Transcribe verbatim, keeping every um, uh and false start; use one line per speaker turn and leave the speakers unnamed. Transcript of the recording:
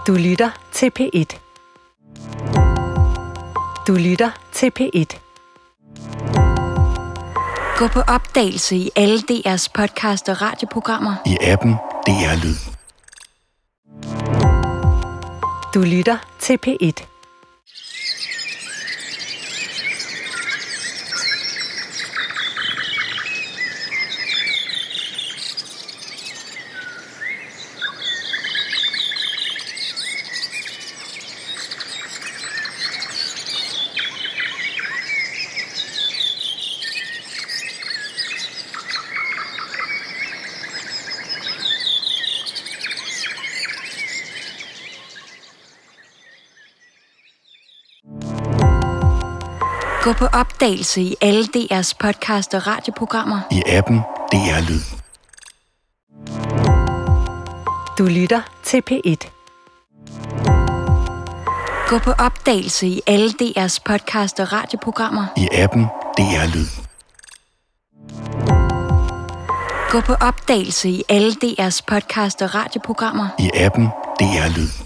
Du lytter til P et. Du lytter til P et.
Gå på opdagelse i alle D R's podcast og radioprogrammer.
I appen D R Lyd.
Du lytter til P et.
Gå på opdagelse i alle D R's podcast og radioprogrammer.
I appen D R Lyd.
Du lytter til P et.
Gå på opdagelse i alle D R's podcast og radioprogrammer.
I appen D R Lyd.
Gå på opdagelse i alle D R's podcast og radioprogrammer.
I appen D R Lyd.